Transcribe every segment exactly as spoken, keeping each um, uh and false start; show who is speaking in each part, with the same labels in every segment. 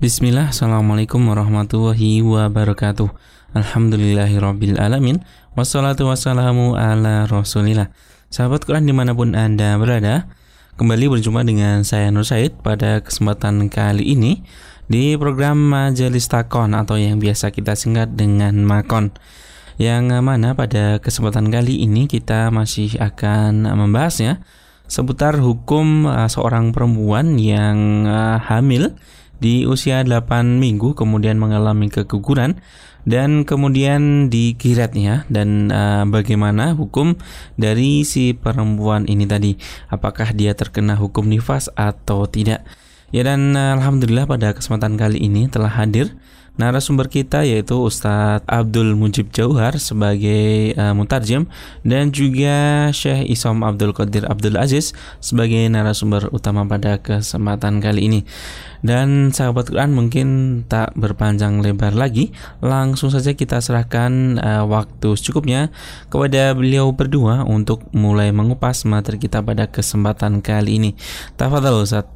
Speaker 1: Bismillah, Assalamualaikum warahmatullahi wabarakatuh. Alhamdulillahirabbil alamin. Wassalatu wassalamu ala rasulillah. Sahabat Quran dimanapun Anda berada, kembali berjumpa dengan saya Nur Said pada kesempatan kali ini di program Majelis Takon atau yang biasa kita singkat dengan Makon. Yang mana pada kesempatan kali ini kita masih akan membahasnya seputar hukum uh, seorang perempuan yang uh, hamil di usia delapan minggu kemudian mengalami keguguran dan kemudian dikiratnya, dan uh, bagaimana hukum dari si perempuan ini tadi, apakah dia terkena hukum nifas atau tidak. Ya, dan uh, alhamdulillah pada kesempatan kali ini telah hadir narasumber kita, yaitu Ustadz Abdul Mujib Jauhar sebagai uh, mutarjem, dan juga Syekh Isom Abdul Qadir Abdul Aziz sebagai narasumber utama pada kesempatan kali ini. Dan sahabat Quran, mungkin tak berpanjang lebar lagi, langsung saja kita serahkan uh, waktu secukupnya kepada beliau berdua untuk mulai mengupas materi kita pada kesempatan kali ini. Tafadhal Ustadz.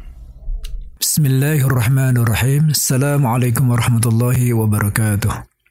Speaker 2: Bismillahirrahmanirrahim. Assalamualaikum warahmatullahi wabarakatuh.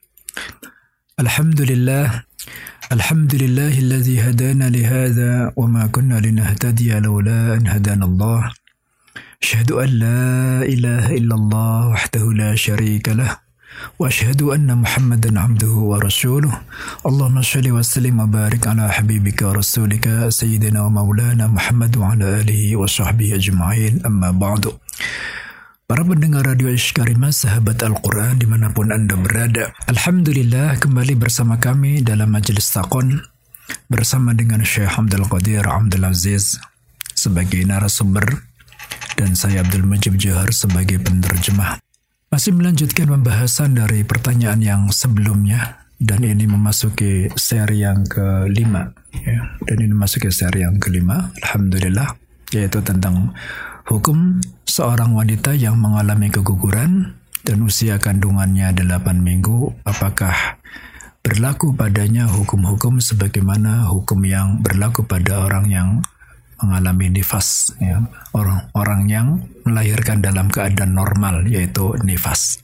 Speaker 2: Alhamdulillah. Alhamdulillahilladzi hadana lihadza wa ma kunna linahtadiya laula an hadana Allah. Asyhadu an la ilaha illallah wahdahu la syarika lah. Wa asyhadu anna Muhammadan abduhu wa rasuluh. Allahumma shalli wa sallim wa barik ala habibika rasulika sayyidina wa maulana Muhammad wa ala alihi wa sahbihi ajma'in, amma ba'du. Para pendengar Radio Ishkarimah, sahabat Al-Quran dimanapun Anda berada, alhamdulillah kembali bersama kami dalam Majelis Takon bersama dengan Syekh Abdul Qadir Abdul Aziz sebagai narasumber dan saya Abdul Mujib Jauhar sebagai penerjemah. Masih melanjutkan pembahasan dari pertanyaan yang sebelumnya, dan ini memasuki seri yang kelima, ya. Dan ini memasuki seri yang kelima, alhamdulillah, yaitu tentang hukum seorang wanita yang mengalami keguguran dan usia kandungannya delapan minggu, apakah berlaku padanya hukum-hukum sebagaimana hukum yang berlaku pada orang yang mengalami nifas, ya. Orang-orang yang melahirkan dalam keadaan normal, yaitu nifas.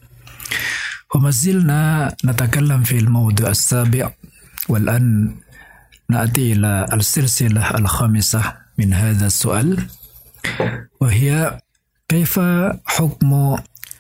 Speaker 2: Wa mazilna natakallam fil mawdu' as-sabi' wal an na'ti ila al-silsilah al-khamisah min hadha as-su'al wa hiya kaifa hukmu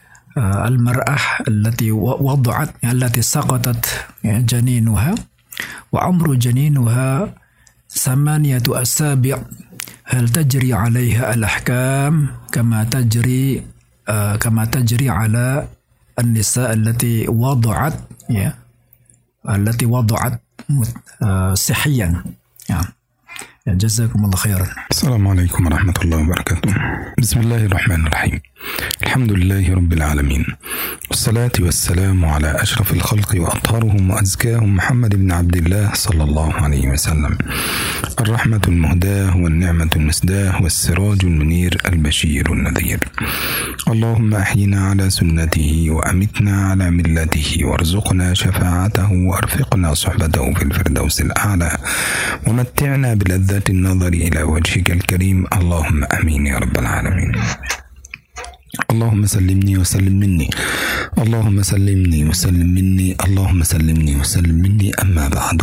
Speaker 2: al-mar'ah allati wada'at allati saqatat janinuha wa amru janinuha thamaniyatu asabi' hal tajri 'alayha al-ahkam kama tajri uh, kama tajri 'ala an-nisa allati wada'at ya allati wada'at uh, sihiyan ya. Jazakumullah khairan.
Speaker 3: Assalamualaikum warahmatullahi wabarakatuh. Bismillahirrahmanirrahim. Alhamdulillahi rabbil alamin. Wassalatu wassalamu ala ashrafil khalqi wa atharuhum wa azkahum Muhammad ibn Abdullah sallallahu alaihi wasallam. Ar-rahmatul muhdah wal ni'matul misdah was sirajul munir al-bashirun nadhir. Allahumma ahyina ala sunnatihi wa amitna ala millatihi warzuqna syafa'atahu wa arfiqna suhbatahu fil firdausil a'la wa matti'na bil ذات النظر إلى وجهك الكريم اللهم أمين يا رب العالمين. اللهم سلمني وسلم مني اللهم سلمني وسلم مني اللهم سلمني وسلم مني أما بعد.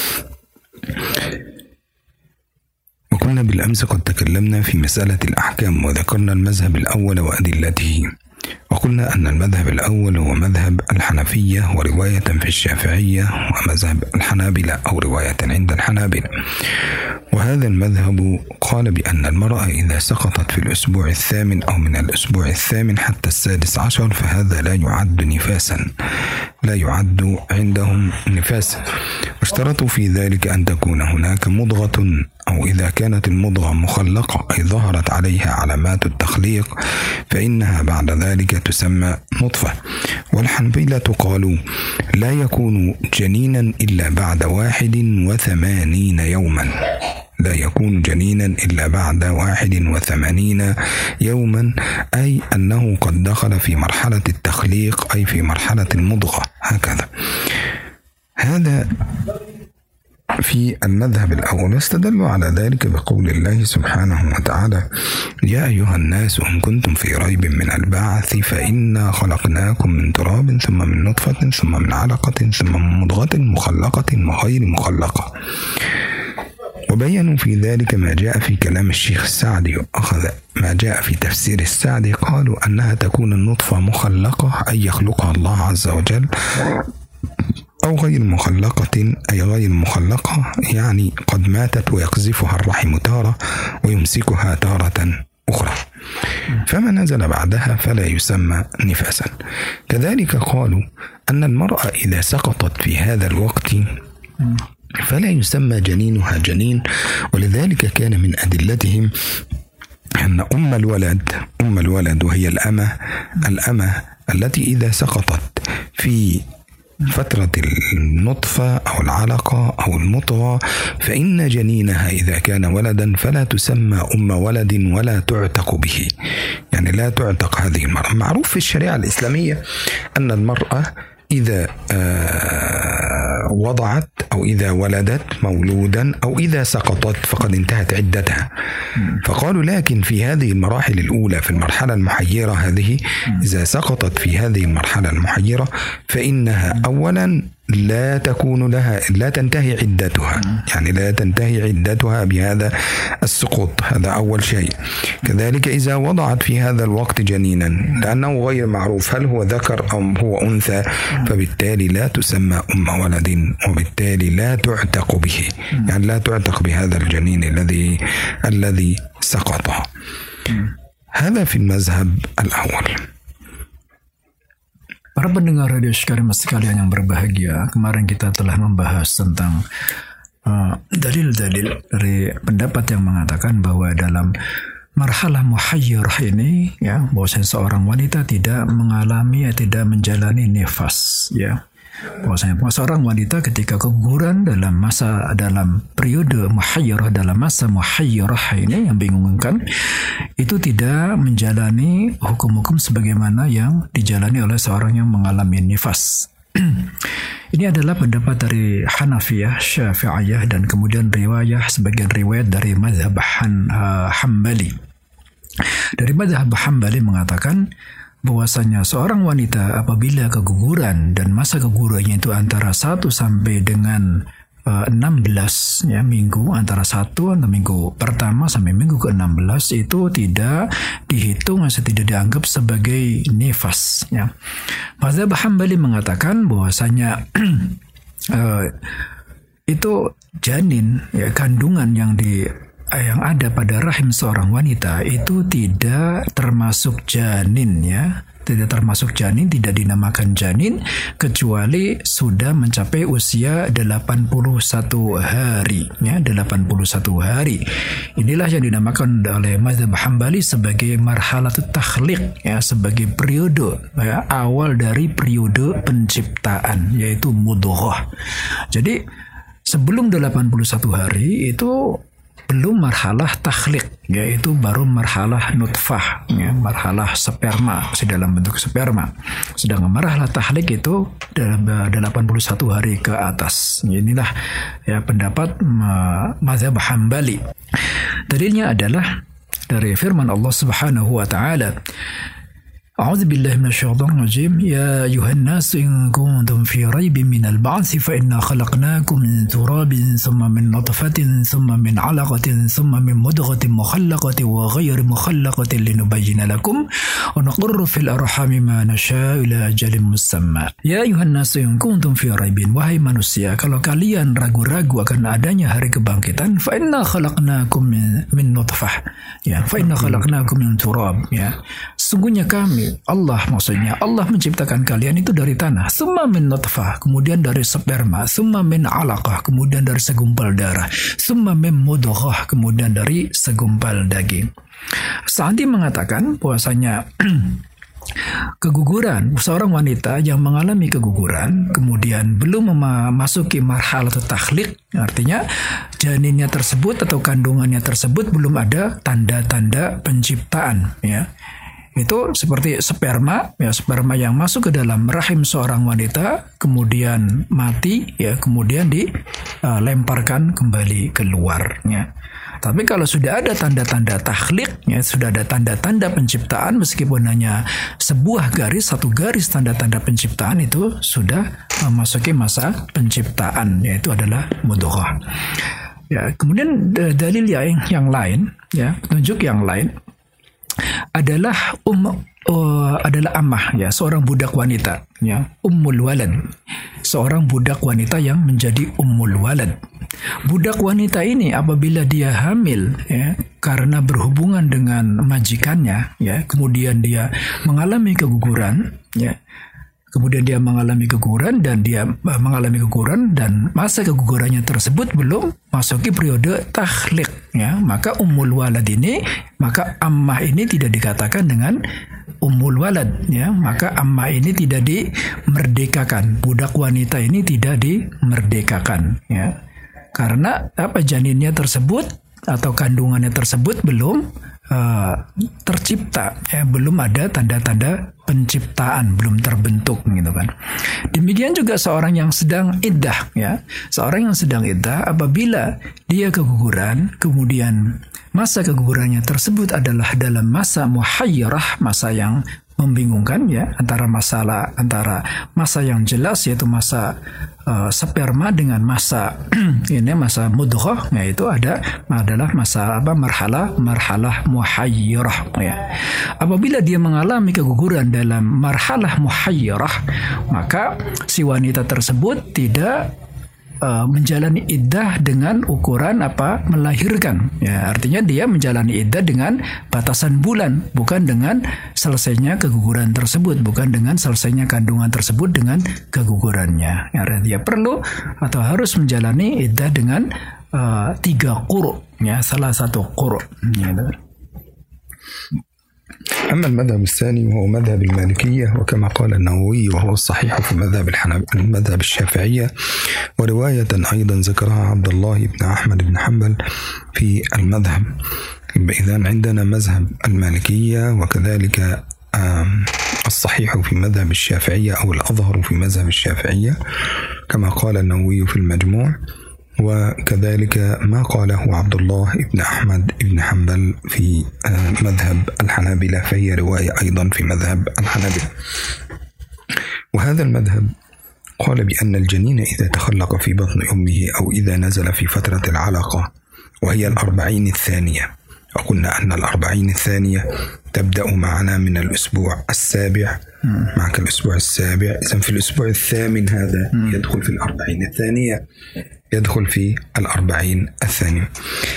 Speaker 3: وكنا بالأمس قد تكلمنا في مسألة الأحكام وذكرنا المذهب الأول وأدلته، وقلنا أن المذهب الأول هو مذهب الحنفية ورواية في الشافعية، ومذهب الحنابلة أو رواية عند الحنابلة. وهذا المذهب قال بأن المرأة إذا سقطت في الأسبوع الثامن أو من الأسبوع الثامن حتى السادس عشر فهذا لا يعد نفاسا، لا يعد عندهم نفاسا، واشترطوا في ذلك أن تكون هناك مضغة، أو إذا كانت المضغة مخلقة أي ظهرت عليها علامات التخليق فإنها بعد ذلك تسمى نطفة. والحنبلة قالوا لا يكون جنينا إلا بعد واحد وثمانين يوما، لا يكون جنينا إلا بعد واحد وثمانين يوما، أي أنه قد دخل في مرحلة التخليق أي في مرحلة المضغة، هكذا. هذا في المذهب الأول، واستدلوا على ذلك بقول الله سبحانه وتعالى: يا أيها الناس إن كنتم في ريب من البعث فإنا خلقناكم من تراب ثم من نطفة ثم من علقة ثم من مضغة مخلقة وغير مخلقة. وبينوا في ذلك ما جاء في كلام الشيخ السعدي، وأخذ ما جاء في تفسير السعدي قالوا أنها تكون النطفة مخلقة أي يخلقها الله عز وجل، أو غير مخلقة أي غير مخلقة يعني قد ماتت ويقذفها الرحم تارة ويمسكها تارة أخرى، فما نزل بعدها فلا يسمى نفاسا. كذلك قالوا أن المرأة إذا سقطت في هذا الوقت فلا يسمى جنينها جنين، ولذلك كان من أدلتهم أن أم الولد أم الولد وهي الأمة الأمة التي إذا سقطت في فترة النطفة أو العلقة أو المضغة فإن جنينها إذا كان ولدا فلا تسمى أم ولد ولا تعتق به، يعني لا تعتق هذه المرأة. معروف في الشريعة الإسلامية أن المرأة إذا آه وضعت أو إذا ولدت مولودا أو إذا سقطت فقد انتهت عدتها. فقالوا لكن في هذه المراحل الأولى في المرحلة المحيرة هذه إذا سقطت في هذه المرحلة المحيرة فإنها أولا لا تكون لها لا تنتهي عدتها، يعني لا تنتهي عدتها بهذا السقوط، هذا أول شيء. كذلك إذا وضعت في هذا الوقت جنينا لأنه غير معروف هل هو ذكر أو هو أنثى فبالتالي لا تسمى أم ولد وبالتالي لا تعتق به، يعني لا تعتق بهذا الجنين الذي الذي سقط. هذا في المذهب الأول.
Speaker 2: Para pendengar radio sekalian sekalian yang berbahagia, kemarin kita telah membahas tentang uh, dalil-dalil dari pendapat yang mengatakan bahwa dalam marhalah muhayyirah ini, ya, bahwasanya seorang wanita tidak mengalami, ya, tidak menjalani nifas, ya. Bahwasanya seorang wanita ketika keguguran dalam masa dalam periode muhayyirah, dalam masa muhayyirah ini yang bingungkan, itu tidak menjalani hukum-hukum sebagaimana yang dijalani oleh seorang yang mengalami nifas. Ini adalah pendapat dari Hanafiyah, Syafi'iyah, dan kemudian riwayah sebagian riwayat dari mazhab Han, uh, Hambali. Dari mazhab Hambali mengatakan bahwasanya seorang wanita apabila keguguran dan masa kegugurannya itu antara satu sampai dengan uh, enam belas, ya, minggu, antara satu atau minggu pertama sampai minggu ke enam belas itu tidak dihitung atau tidak dianggap sebagai nifas, ya. Mazhab Hambali mengatakan bahwasanya uh, itu janin, ya, kandungan yang di yang ada pada rahim seorang wanita itu tidak termasuk janin, ya, tidak termasuk janin, tidak dinamakan janin kecuali sudah mencapai usia delapan puluh satu hari, ya, delapan puluh satu hari. Inilah yang dinamakan oleh mazhab Hambali sebagai marhalatut takhliq, ya, sebagai periode, ya, awal dari periode penciptaan, yaitu mudghah. Jadi sebelum delapan puluh satu hari itu belum marhalah takhliq, yaitu baru marhalah nutfah, ya, marhalah sperma, masih dalam bentuk sperma. Sedangkan marhalah takhliq itu dalam delapan puluh satu hari ke atas. Inilah, ya, pendapat mazhab Hambali. Dalilnya adalah dari firman Allah Subhanahu wa taala, أعوذ بالله من الشيطان الرجيم يا أيها الناس إن كنتم في ريب من البعث فإنا خلقناكم من تراب ثم من نطفة ثم من علقة ثم من مضغة مخلقة وغير مخلقة لنبين لكم ونقر في الأرحام ما نشاء إلى أجل مسمى يا أيها الناس إن كنتم في ريب wahai manusia, kalau kalian ragu-ragu akan adanya hari kebangkitan, فإنا خلقناكم من, من نطفة, ya, فإنا خلقناكم من تراب, ya, sungguhnya kami, Allah maksudnya, Allah menciptakan kalian itu dari tanah, summa min nutfah, kemudian dari sperma, summa min alaqah, kemudian dari segumpal darah, summa min mudghah, kemudian dari segumpal daging. Sa'di mengatakan bahwasanya keguguran seorang wanita yang mengalami keguguran kemudian belum memasuki marhalah takhliq, artinya janinnya tersebut atau kandungannya tersebut belum ada tanda-tanda penciptaan, ya. itu seperti sperma, ya sperma yang masuk ke dalam rahim seorang wanita, kemudian mati, ya kemudian dilemparkan kembali keluar. Ya. Tapi kalau sudah ada tanda-tanda takhlik, ya sudah ada tanda-tanda penciptaan, meskipun hanya sebuah garis, satu garis tanda-tanda penciptaan, itu sudah memasuki masa penciptaan, yaitu adalah mudghah. Ya, kemudian dalil yang yang lain, ya petunjuk yang lain adalah um uh, adalah ammah, ya seorang budak wanita, ya ummul walad, seorang budak wanita yang menjadi ummul walad. Budak wanita ini apabila dia hamil, ya karena berhubungan dengan majikannya, ya kemudian dia mengalami keguguran, ya kemudian dia mengalami keguguran dan dia mengalami keguguran dan masa kegugurannya tersebut belum masuki periode takhlik, ya maka ummul walad ini, maka ammah ini tidak dikatakan dengan ummul walad, ya maka ammah ini tidak dimerdekakan, budak wanita ini tidak dimerdekakan, ya karena apa, janinnya tersebut atau kandungannya tersebut belum uh, tercipta, ya belum ada tanda-tanda penciptaan, belum terbentuk gitu kan. Demikian juga seorang yang sedang iddah, ya seorang yang sedang iddah apabila dia keguguran, kemudian masa kegugurannya tersebut adalah dalam masa muhayyarah, masa yang membingungkan, ya antara masalah antara masa yang jelas yaitu masa uh, sperma dengan masa ini masa mudghah, yaitu ada adalah masa apa marhalah marhalah muhayyarah, ya. Apabila dia mengalami keguguran dalam marhalah muhayyarah, maka si wanita tersebut tidak Uh, menjalani iddah dengan ukuran apa melahirkan, ya artinya dia menjalani iddah dengan batasan bulan, bukan dengan selesainya keguguran tersebut, bukan dengan selesainya kandungan tersebut dengan kegugurannya. Ya, dia perlu atau harus menjalani iddah dengan uh, tiga quru, ya salah satu quru, ya.
Speaker 3: أما المذهب الثاني وهو مذهب المالكية، وكما قال النووي وهو الصحيح في مذهب المذهب الشافعية، ورواية أيضا ذكرها عبد الله بن أحمد بن حنبل في المذهب. إذن عندنا مذهب المالكية وكذلك الصحيح في مذهب الشافعية أو الأظهر في مذهب الشافعية كما قال النووي في المجموع، وكذلك ما قاله عبد الله بن أحمد بن حنبل في مذهب الحنابلة، فهي رواية أيضا في مذهب الحنابلة. وهذا المذهب قال بأن الجنين إذا تخلق في بطن أمه أو إذا نزل في فترة العلقة وهي الأربعين الثانية، وقلنا أن الأربعين الثانية تبدأ معنا من الأسبوع السابع، معك الأسبوع السابع، إذن في الأسبوع الثامن هذا يدخل في الأربعين الثانية، يدخل في الأربعين الثانية.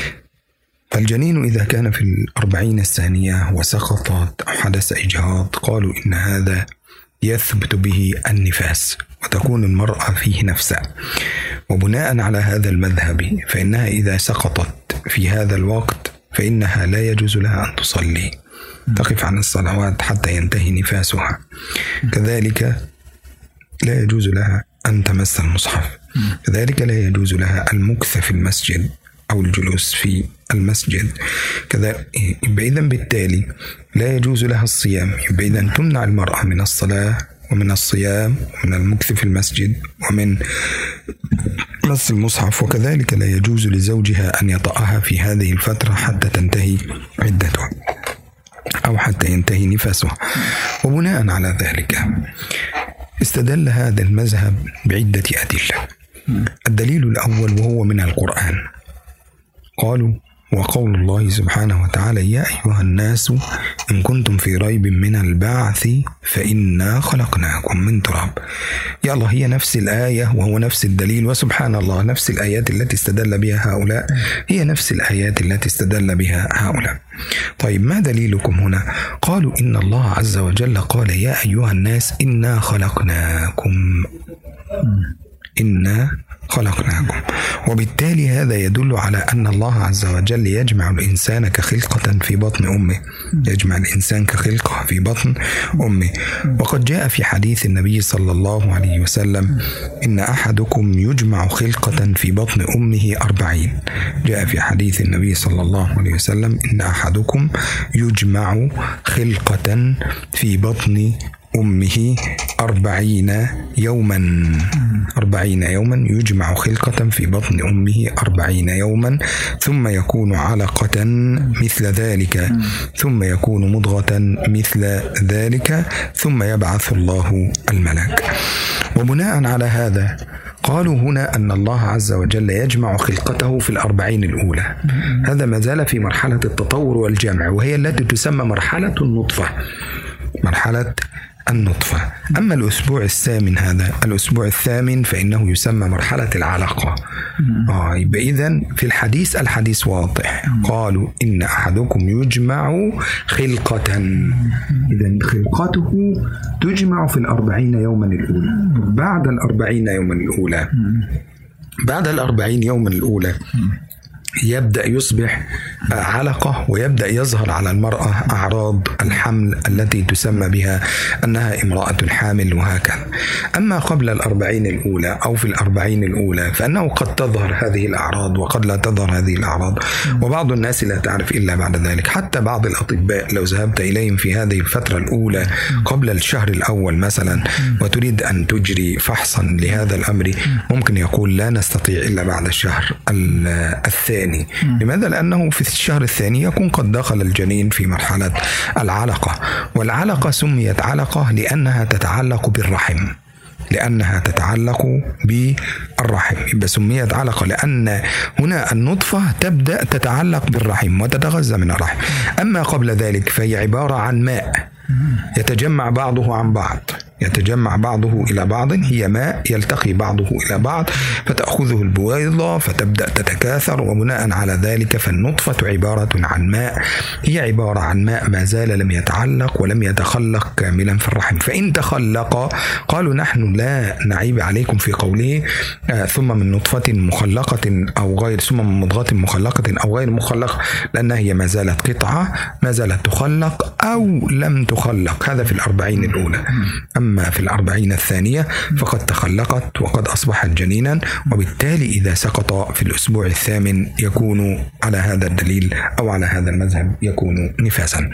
Speaker 3: فالجنين إذا كان في الأربعين الثانية وسقطت أو حدث إجهاض، قالوا إن هذا يثبت به النفاس وتكون المرأة فيه نفسها. وبناء على هذا المذهب فإنها إذا سقطت في هذا الوقت فإنها لا يجوز لها أن تصلي، تقف عن الصلوات حتى ينتهي نفاسها. كذلك لا يجوز لها أن تمس المصحف، كذلك لا يجوز لها المكث في المسجد أو الجلوس في المسجد. كذا إذن بالتالي لا يجوز لها الصيام، إذن تمنع المرأة من الصلاة ومن الصيام ومن المكث في المسجد ومن مس المصحف، وكذلك لا يجوز لزوجها أن يطأها في هذه الفترة حتى تنتهي عدتها أو حتى ينتهي نفاسها. وبناء على ذلك استدل هذا المذهب بعدة أدلة. الدليل الأول وهو من القرآن، قالوا وقول الله سبحانه وتعالى يا أيها الناس إن كنتم في ريب من البعث فإنا خلقناكم من تراب. يا الله، هي نفس الآية وهو نفس الدليل، وسبحان الله نفس الآيات التي استدل بها هؤلاء هي نفس الآيات التي استدل بها هؤلاء. طيب ما دليلكم هنا؟ قالوا إن الله عز وجل قال يا أيها الناس إنا خلقناكم، إنا خلقناكم. وبالتالي هذا يدل على أن الله عز وجل يجمع الإنسان كخلقة في بطن أمه، يجمع الإنسان كخلقة في بطن أمه. وقد جاء في حديث النبي صلى الله عليه وسلم: إن أحدكم يجمع خلقة في بطن أمه أربعين. جاء في حديث النبي صلى الله عليه وسلم: إن أحدكم يجمع خلقة في بطن أمه أربعين يوما. أربعين يوما يجمع خلقة في بطن أمه أربعين يوما، ثم يكون علقة مثل ذلك، ثم يكون مضغة مثل ذلك، ثم يبعث الله الملك. وبناء على هذا قالوا هنا أن الله عز وجل يجمع خلقته في الأربعين الأولى. هذا ما زال في مرحلة التطور والجمع، وهي التي تسمى مرحلة النطفة، مرحلة النطفة. أما الأسبوع الثامن، هذا الأسبوع الثامن فإنه يسمى مرحلة العلقة. آه يبقى إذن في الحديث الحديث واضح، قالوا إن أحدكم يجمع خلقة، إذن خلقته تجمع في الأربعين يوما الأولى. بعد الأربعين يوما الأولى بعد الأربعين يوما الأولى يبدأ يصبح علقة، ويبدأ يظهر على المرأة أعراض الحمل التي تسمى بها أنها امرأة حامل، وهكذا. أما قبل الأربعين الأولى أو في الأربعين الأولى فإنه قد تظهر هذه الأعراض وقد لا تظهر هذه الأعراض، وبعض الناس لا تعرف إلا بعد ذلك. حتى بعض الأطباء لو ذهبت إليهم في هذه الفترة الأولى قبل الشهر الأول مثلا وتريد أن تجري فحصا لهذا الأمر، ممكن يقول لا نستطيع إلا بعد الشهر الثاني. لماذا؟ لأنه في الشهر الثاني يكون قد دخل الجنين في مرحلة العلقة. والعلقة سميت علقة لأنها تتعلق بالرحم، لأنها تتعلق بالرحم، يبقى سميت علقة لأن هنا النطفة تبدأ تتعلق بالرحم وتتغذى من الرحم. أما قبل ذلك فهي عبارة عن ماء يتجمع بعضه عن بعض، يتجمع بعضه إلى بعض، هي ماء يلتقي بعضه إلى بعض فتأخذه البويضة فتبدأ تتكاثر، وبناء على ذلك فالنطفة عبارة عن ماء، هي عبارة عن ماء ما زال لم يتعلق ولم يتخلق كاملا في الرحم. فإن تخلق قالوا نحن لا نعيب عليكم في قوله آه ثم من نطفة مخلقة أو غير، ثم من مضغة مخلقة أو غير مخلقة، لأنها هي ما زالت قطعة، ما زالت تخلق أو لم تخلق. هذا في الأربعين الأولى. أما في الأربعين الثانية فقد تخلقت وقد أصبحت جنينا، وبالتالي إذا سقط في الأسبوع الثامن يكون على هذا الدليل أو على هذا المذهب يكون نفاسا.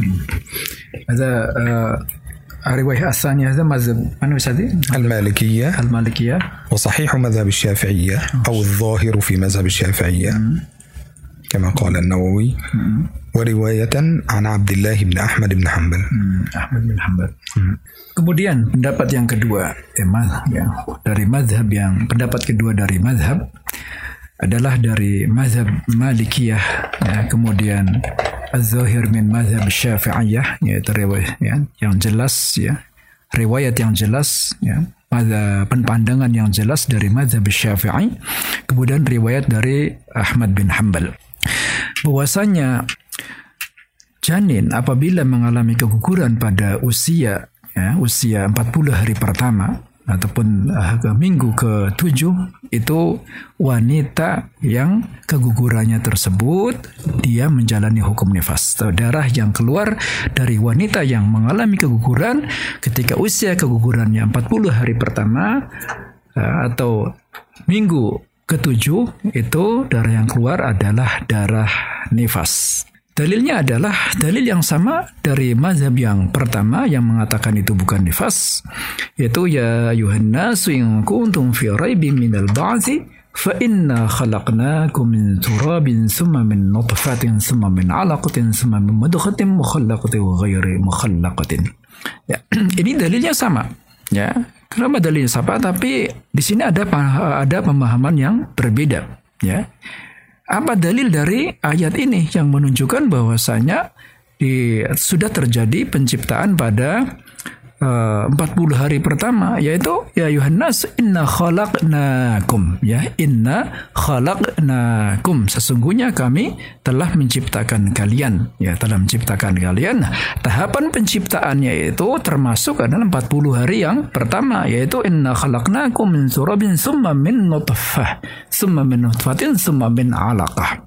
Speaker 2: هذا الرواية الثانية هذا مذهب
Speaker 3: المالكية
Speaker 2: المالكية
Speaker 3: وصحيح مذهب الشافعية أو الظاهر في مذهب الشافعية كما قال النووي، ورواية عن عبد الله بن أحمد بن حنبل.
Speaker 2: Ahmad bin Hanbal. Kemudian pendapat yang kedua, emang ya, dari mazhab yang pendapat kedua dari mazhab adalah dari mazhab Malikiyah, ya, kemudian Az-Zahir min mazhab Syafi'iyah, yaitu riwayat ya, yang jelas ya, riwayat yang jelas ya, pada pandangan yang jelas dari mazhab Syafi'i, kemudian riwayat dari Ahmad bin Hanbal bahwasanya janin apabila mengalami keguguran pada usia ya, usia empat puluh hari pertama ataupun uh, ke minggu ke tujuh, itu wanita yang kegugurannya tersebut dia menjalani hukum nifas. Darah yang keluar dari wanita yang mengalami keguguran ketika usia kegugurannya empat puluh hari pertama uh, atau minggu ketujuh, itu darah yang keluar adalah darah nifas. Dalilnya adalah dalil yang sama dari mazhab yang pertama yang mengatakan itu bukan nifas, yaitu ya ayuhan nasu in kuntum fi raibin minal ba'tsi fa inna khalaqnakum min turabin thumma min nutfatin thumma min 'alaqatin thumma min mudghatin mukhallaqatin wa ghairi mukhallaqatin. Ya, ini dalilnya sama, ya. Kenapa dalilnya sama? Tapi di sini ada ada pemahaman yang berbeda, ya. Apa dalil dari ayat ini yang menunjukkan bahwasanya di, sudah terjadi penciptaan pada uh, empat puluh hari pertama, yaitu ya Yuhannas inna khalaqnakum, ya inna khalaqnakum, sesungguhnya kami telah menciptakan kalian, ya telah menciptakan kalian. Nah, tahapan penciptaannya itu termasuk adalah empat puluh hari yang pertama, yaitu inna khalaqnakum min surabin summa min nutfah summa min nutfatin summa min alaqah.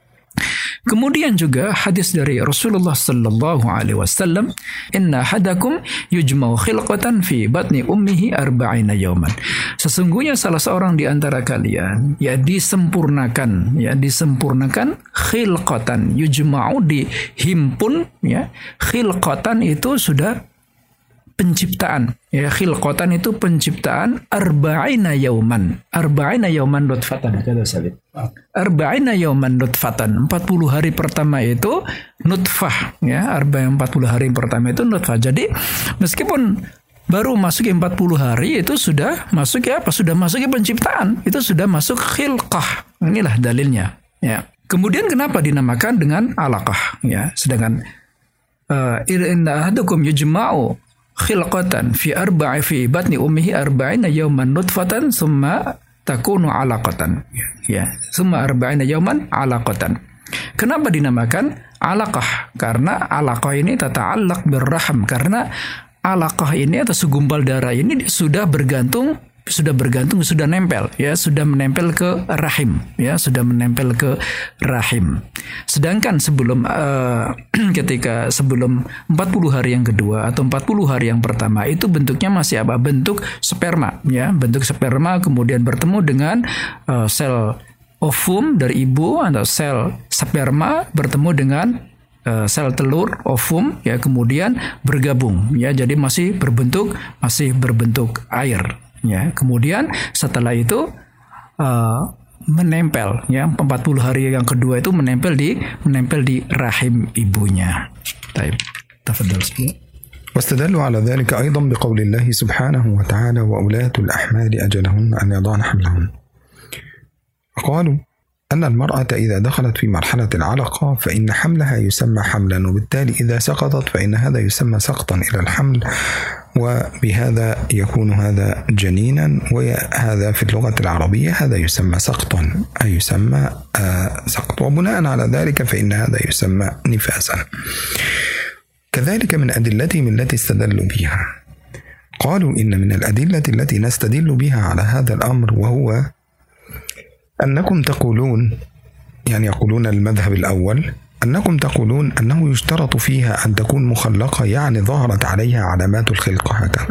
Speaker 2: Kemudian juga hadis dari Rasulullah sallallahu alaihi wasallam, inna hadakum yujma'u khilqatan fi batni ummihi arba'ina yawman. Sesungguhnya salah seorang di antara kalian ya disempurnakan, ya disempurnakan khilqatan, yujma'u dihimpun, ya. Khilqatan itu sudah penciptaan, ya khilqatan itu penciptaan arba'ina yauman, arba'ina yauman nutfatan, kata Sabit. Arba'ina yauman nutfatan, empat puluh hari pertama itu nutfah, ya, arba'in empat puluh hari pertama itu nutfah. Jadi meskipun baru masuk empat puluh hari itu sudah masuk ya apa? Sudah masuk penciptaan, itu sudah masuk khilqah. Inilah dalilnya, ya. Kemudian kenapa dinamakan dengan alaqah, ya? Sedangkan uh, inna ahadukum yujma'u khilqatan fi arba'i fi batni ummihi arba'ina yawman nutfatan summa takunu alaqatan, ya summa arba'ina yawman alaqatan. Kenapa dinamakan alaqah? Karena alaqah ini tata'allaq birraham, karena alaqah ini atau segumpal darah ini sudah bergantung sudah bergantung sudah nempel, ya sudah menempel ke rahim, ya sudah menempel ke rahim. Sedangkan sebelum uh, ketika sebelum empat puluh hari yang kedua atau empat puluh hari yang pertama itu bentuknya masih apa? Bentuk sperma, ya bentuk sperma, kemudian bertemu dengan uh, sel ovum dari ibu atau sel sperma bertemu dengan uh, sel telur ovum, ya kemudian bergabung, ya jadi masih berbentuk masih berbentuk air. Ya, kemudian setelah itu uh, menempel, ya empat puluh hari yang kedua itu menempel di menempel di rahim ibunya. Baik, tafadhal.
Speaker 3: واستدلوا على ذلك أيضا بقول الله سبحانه وتعالى وأولاة الأحمال أجلهن أن يضعن حملهن. قالوا أن المرأة إذا دخلت في مرحلة العلقة فإن حملها يسمى حملا، وبالتالي إذا سقطت فإن هذا يسمى سقطا إلى الحمل، وبهذا يكون هذا جنينا، وهذا في اللغة العربية هذا يسمى سقطا، أي يسمى آه سقط، وبناء على ذلك فإن هذا يسمى نفاسا. كذلك من أدلتهم التي استدلوا بها، قالوا إن من الأدلة التي نستدل بها على هذا الأمر وهو أنكم تقولون، يعني يقولون المذهب الأول، أنكم تقولون أنه يشترط فيها أن تكون مخلقة، يعني ظهرت عليها علامات الخلقة هكذا.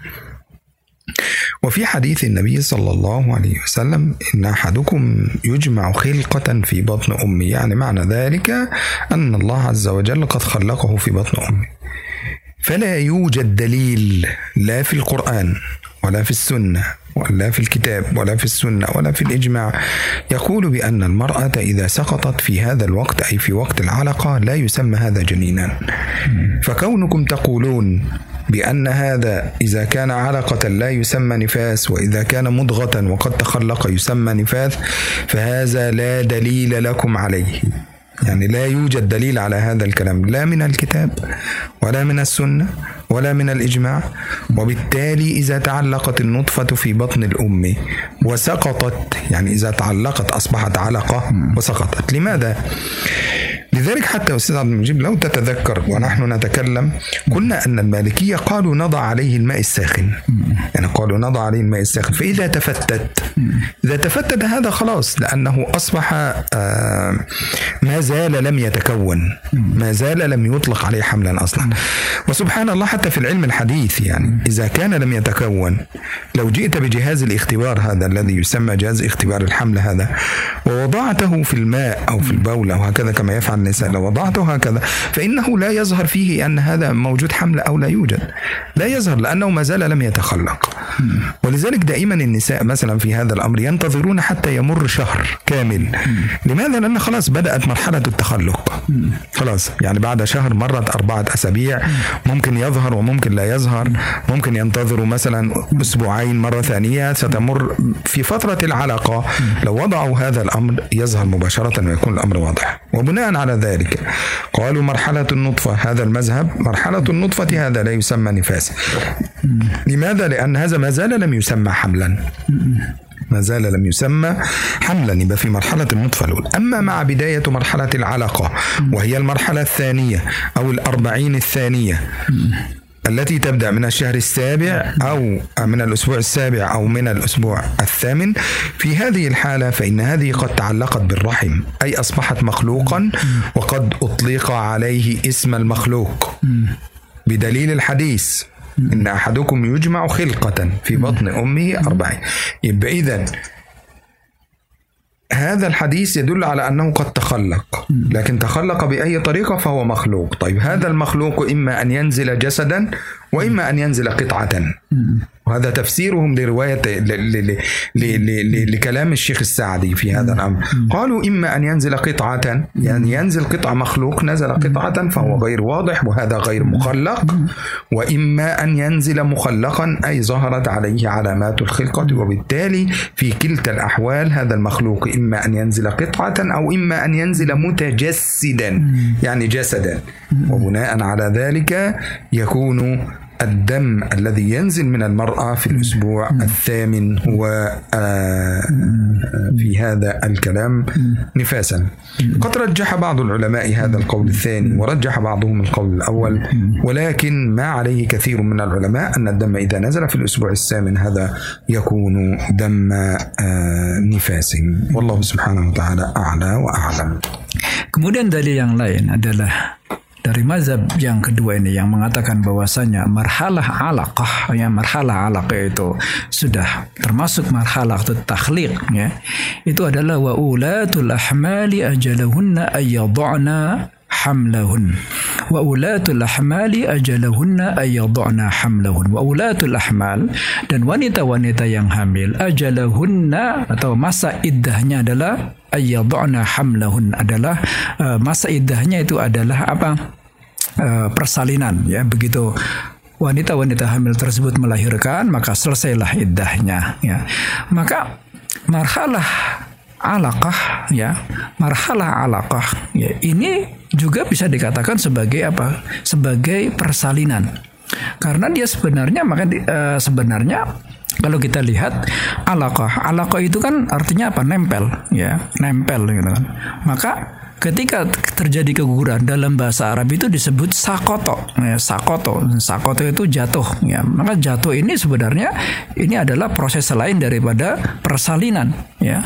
Speaker 3: وفي حديث النبي صلى الله عليه وسلم إن أحدكم يجمع خلقة في بطن أمه، يعني معنى ذلك أن الله عز وجل قد خلقه في بطن أمه. فلا يوجد دليل لا في القرآن ولا في السنة ولا في الكتاب ولا في السنة ولا في الإجماع يقول بأن المرأة إذا سقطت في هذا الوقت أي في وقت العلقة لا يسمى هذا جنينا. فكونكم تقولون بأن هذا إذا كان علقة لا يسمى نفاس، وإذا كان مضغة وقد تخلق يسمى نفاس، فهذا لا دليل لكم عليه، يعني لا يوجد دليل على هذا الكلام لا من الكتاب ولا من السنة ولا من الإجماع. وبالتالي إذا تعلقت النطفة في بطن الأم وسقطت، يعني إذا تعلقت أصبحت علقة وسقطت. لماذا؟ لذلك حتى أستاذ عبد المجيب لو تتذكر ونحن نتكلم قلنا أن المالكية قالوا نضع عليه الماء الساخن، يعني قالوا نضع عليه الماء الساخن، فإذا تفتت إذا تفتت هذا خلاص، لأنه أصبح ما زال لم يتكون، ما زال لم يطلق عليه حملا أصلا. وسبحان الله حتى في العلم الحديث يعني إذا كان لم يتكون، لو جئت بجهاز الاختبار هذا الذي يسمى جهاز اختبار الحمل هذا ووضعته في الماء أو في البول أو هكذا كما يفعل النساء، لو وضعته هكذا فإنه لا يظهر فيه أن هذا موجود حمل أو لا يوجد، لا يظهر لأنه ما زال لم يتخلق. ولذلك دائما النساء مثلا في هذا الأمر ينتظرون حتى يمر شهر كامل. لماذا؟ لأن خلاص بدأت مرحلة التخلق، خلاص يعني بعد شهر مرت أربعة أسابيع، ممكن يظهر وممكن لا يظهر، ممكن ينتظروا مثلا أسبوعين مرة ثانية ستمر. في فترة العلاقة لو وضعوا هذا الأمر يظهر مباشرة ويكون الأمر واضح. وبناء على ذلك قالوا مرحلة النطفة، هذا المذهب مرحلة النطفة هذا لا يسمى نفاسا. لماذا؟ لأن هذا ما زال لم يسمى حملا، ما زال لم يسمى حملا، يبقى في مرحلة النطفة الأولى. أما مع بداية مرحلة العلاقة وهي المرحلة الثانية أو الأربعين الثانية التي تبدأ من الشهر السابع أو من الأسبوع السابع أو من الأسبوع الثامن، في هذه الحالة فإن هذه قد تعلقت بالرحم، أي أصبحت مخلوقا وقد أطلق عليه اسم المخلوق بدليل الحديث إن أحدكم يجمع خلقة في بطن أمه أربعين. يبقى إذن هذا الحديث يدل على أنه قد تخلق، لكن تخلق بأي طريقة فهو مخلوق. طيب هذا المخلوق إما أن ينزل جسدا وإما أن ينزل قطعة، وهذا تفسيرهم لرواية لكلام الشيخ السعدي في هذا الأمر. قالوا إما أن ينزل قطعة، يعني ينزل قطعة مخلوق نزل قطعة فهو غير واضح وهذا غير مخلق، وإما أن ينزل مخلقا أي ظهرت عليه علامات الخلقة، وبالتالي في كلتا الأحوال هذا المخلوق إما أن ينزل قطعة أو إما أن ينزل متجسدا يعني جسدا. وبناء على ذلك يكون الدم الذي ينزل من المرأة في الأسبوع الثامن هو في هذا الكلام نفاسا. قد رجح بعض العلماء هذا القول الثاني ورجح بعضهم القول الأول، ولكن ما عليه كثير من العلماء أن الدم إذا نزل في الأسبوع الثامن هذا يكون دم نفاس. والله سبحانه وتعالى أعلى وأعلم.
Speaker 2: Kemudian dalil yang lain adalah dari mazhab yang kedua ini yang mengatakan bahwasanya marhalah alaqah, ya marhalah alaqah itu sudah termasuk marhalah takhliq, ya. Itu adalah wa ulatul ahmali ajalahunna ayyad'na hamlahun. Wa ulatul ahmali ajalahunna ayyad'na hamlahun. Wa ulatul ahmal, dan wanita-wanita yang hamil, ajalahunna atau masa iddahnya adalah ayyad'na hamlahun, adalah uh, masa iddahnya itu adalah apa? Uh, persalinan, ya. Begitu wanita-wanita hamil tersebut melahirkan maka selesailah iddahnya, ya. Maka marhalah alaqah, ya, marhalah alaqah, ya, ini juga bisa dikatakan sebagai apa? Sebagai persalinan. Karena dia sebenarnya maka uh, sebenarnya kalau kita lihat alaqah, alaqah itu kan artinya apa? Nempel, ya, nempel gitu kan. Maka ketika terjadi keguguran dalam bahasa Arab itu disebut sakoto, ya, sakoto, sakoto itu jatuh, ya. Maka jatuh ini sebenarnya ini adalah proses lain daripada persalinan, ya.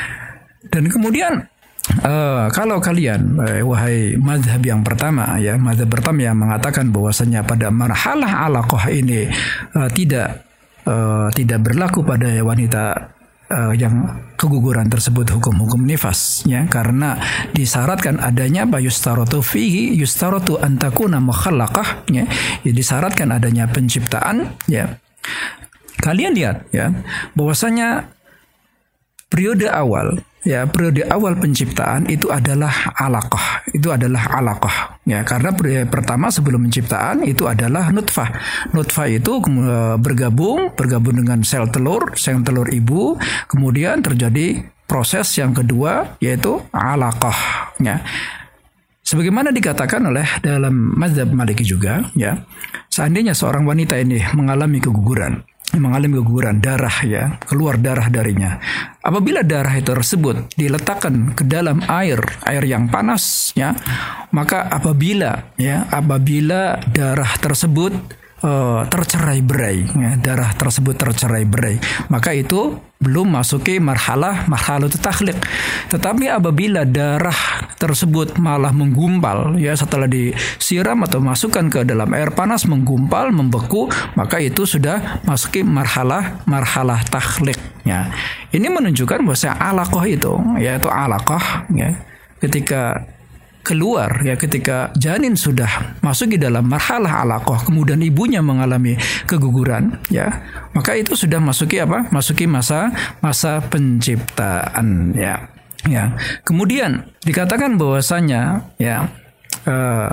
Speaker 2: Dan kemudian uh, kalau kalian uh, wahai mazhab yang pertama, ya, mazhab pertama yang mengatakan bahwasanya pada marhalah alaqah ini uh, tidak uh, tidak berlaku pada wanita Uh, yang keguguran tersebut hukum-hukum nifas, ya, karena disyaratkan adanya apa? Yustaratu fihi yustaratu an takuna mukhallaqah, ya, ya, disyaratkan adanya penciptaan, ya. Kalian lihat, ya, bahwasanya periode awal, ya, periode awal penciptaan itu adalah alaqah, itu adalah alaqah, ya, karena periode pertama sebelum penciptaan itu adalah nutfah. Nutfah itu bergabung bergabung dengan sel telur, sel telur ibu, kemudian terjadi proses yang kedua yaitu alaqah, ya. Sebagaimana dikatakan oleh dalam mazhab Maliki juga, ya, seandainya seorang wanita ini mengalami keguguran, mengalami keguguran darah, ya, keluar darah darinya. Apabila darah itu tersebut diletakkan ke dalam air, air yang panas, ya, maka apabila, ya, apabila darah tersebut uh, tercerai-berai, ya, darah tersebut tercerai-berai, maka itu belum masuki marhalah marhalah takhliq. Tetapi apabila darah tersebut malah menggumpal, ya, setelah disiram atau masukkan ke dalam air panas menggumpal, membeku, maka itu sudah masuki marhalah marhalah takhliq, ya. Ini menunjukkan bahwa alaqah itu, yaitu alaqah, ya, ketika keluar, ya, ketika janin sudah masuk di dalam marhalah alaqah, kemudian ibunya mengalami keguguran, ya, maka itu sudah masuki apa? Masuki masa masa penciptaan, ya. Ya, kemudian dikatakan bahwasanya ya uh,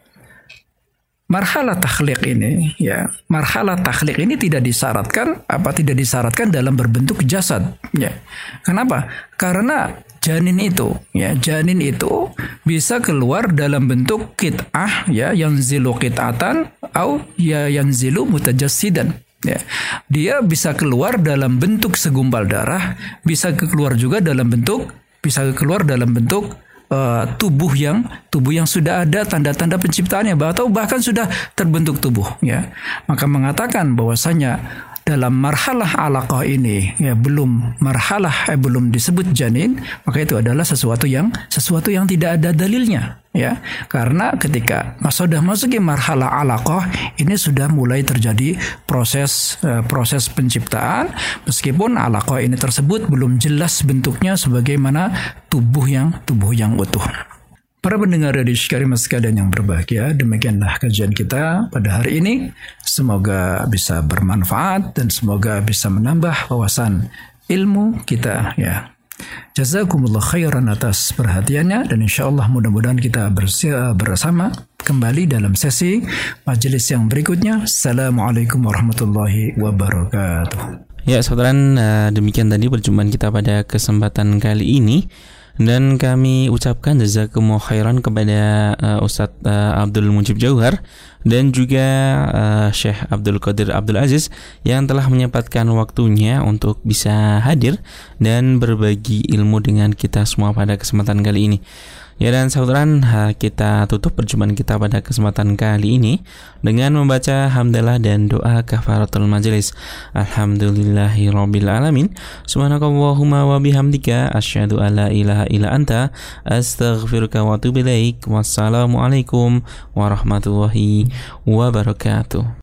Speaker 2: marhalah takhliq ini, ya, marhalah takhliq ini tidak disyaratkan apa tidak disyaratkan dalam berbentuk jasad, ya. Kenapa? Karena janin itu, ya, janin itu bisa keluar dalam bentuk qit'ah, ya, yang zilu qit'atan atau ya yang zilu mutajassidan. Ya, dia bisa keluar dalam bentuk segumpal darah, bisa keluar juga dalam bentuk bisa keluar dalam bentuk Uh, tubuh yang tubuh yang sudah ada tanda-tanda penciptaannya, atau bahkan sudah terbentuk tubuh, ya. Maka mengatakan bahwasanya dalam marhalah alaqah ini, ya, belum marhalah eh, belum disebut janin, maka itu adalah sesuatu yang sesuatu yang tidak ada dalilnya, ya. Karena ketika sudah masuk ke marhalah alaqah ini sudah mulai terjadi proses uh, proses penciptaan, meskipun alaqah ini tersebut belum jelas bentuknya sebagaimana tubuh yang tubuh yang utuh. Para pendengar dari Karimah sekalian yang berbahagia, demikianlah kajian kita pada hari ini. Semoga bisa bermanfaat dan semoga bisa menambah wawasan ilmu kita, ya. Jazakumullah khairan atas perhatiannya, dan insyaallah mudah-mudahan kita bersama kembali dalam sesi majelis yang berikutnya. Assalamualaikum warahmatullahi wabarakatuh.
Speaker 1: Ya, saudara, demikian tadi perjumpaan kita pada kesempatan kali ini. Dan kami ucapkan jazakumullah khairan kepada uh, Ustadz uh, Abdul Mujib Jauhar dan juga uh, Syekh Abdul Qadir Abdul Aziz yang telah menyempatkan waktunya untuk bisa hadir dan berbagi ilmu dengan kita semua pada kesempatan kali ini. Ya, dan saudara, kita tutup perjumpaan kita pada kesempatan kali ini dengan membaca hamdalah dan doa kafaratul majelis. Alhamdulillahirabbil alamin. Subhanakallahumma wa bihamdika asyhadu alla ilaha illa anta astaghfiruka wa atubu ilaik. Wassalamualaikum warahmatullahi wabarakatuh.